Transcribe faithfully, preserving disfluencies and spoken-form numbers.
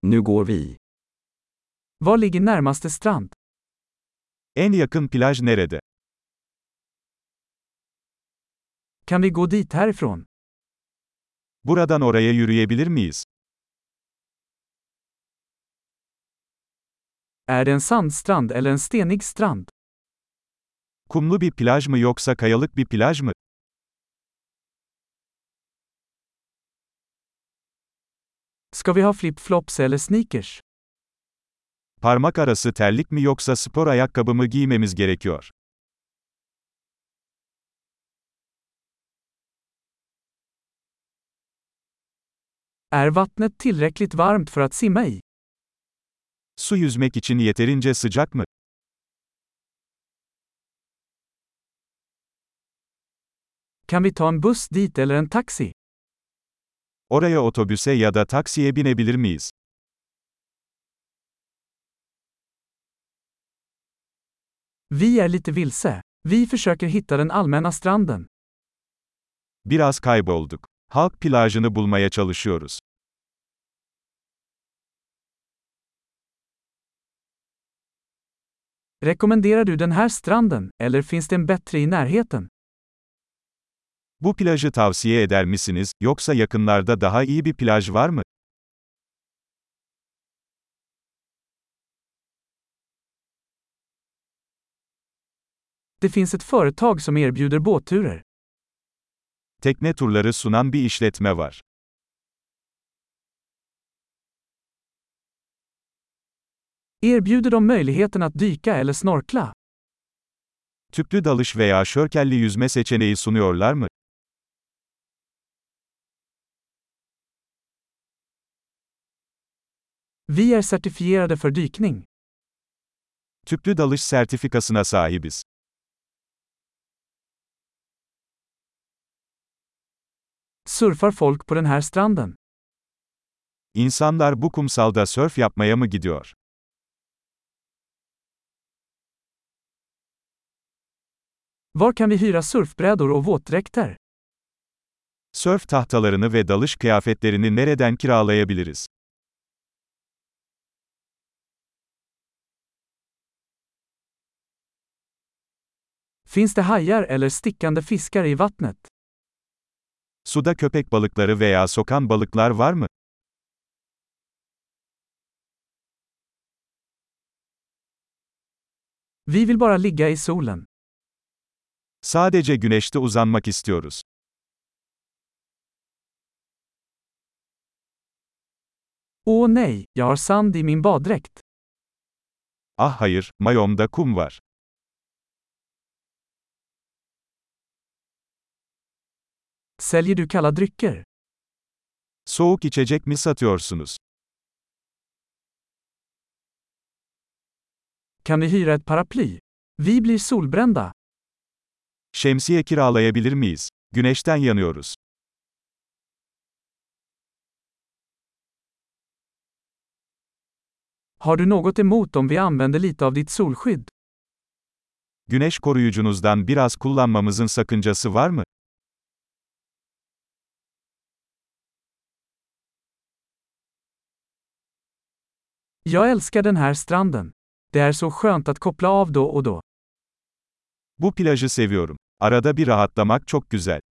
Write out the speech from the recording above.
Nu går vi. Var ligger närmaste strand? En yakın plaj nerede? Kan vi gå dit härifrån? Buradan oraya yürüyebilir miyiz? Är det en sandstrand eller en stenig strand? Kumlu bir plaj mı yoksa kayalık bir plaj mı? Ska vi ha flip-flops eller sneakers? Parmak arası terlik mi yoksa spor ayakkabı mı giymemiz gerekiyor? Är vattnet tillräckligt varmt för att simma i? Su yüzmek için yeterince sıcak mı? Kan vi ta en buss dit eller en taxi? Oraya otobüse ya da taksiye binebilir miyiz? Vi är lite vilse. Vi försöker hitta den allmänna stranden. Biraz kaybolduk. Halk plajını bulmaya çalışıyoruz. Rekommenderar du den här stranden, eller finns det en bättre i närheten? Bu plajı tavsiye eder misiniz, yoksa yakınlarda daha iyi bir plaj var mı? Det finns ett företag som erbjuder båtturer. Tekne turları sunan bir işletme var. Erbjuder de möjligheten att dyka eller snorkla? Tüplü dalış veya şörkelli yüzme seçeneği sunuyorlar mı? Vi är certifierade för dykning. Tüplü dalış sertifikasına sahibiz. Surfar folk på den här stranden? İnsanlar bu kumsalda sörf yapmaya mı gidiyor? Var kan vi hyra surfbrädor och våtdräkter? Sörf tahtalarını ve dalış kıyafetlerini nereden kiralayabiliriz? Finns det hajar eller stickande fiskar i vattnet? Suda köpek balıkları veya sokan balıklar var mı? Vi vill bara ligga i solen. Sadece güneşte uzanmak istiyoruz. Åh nej, jag har sand i min baddräkt. Ah hayır, mayomda kum var. Säljer du kalla drycker? Soğuk içecek mi satıyorsunuz? Kan vi hyra ett paraply? Vi blir solbrända. Şemsiye kiralayabilir miyiz? Güneşten yanıyoruz. Har du något emot om vi använder lite av ditt solskydd? Güneş koruyucunuzdan biraz kullanmamızın sakıncası var mı? Jag älskar den här stranden. Det är så skönt att koppla av då och då. Bu plajı seviyorum. Arada bir rahatlamak çok güzel.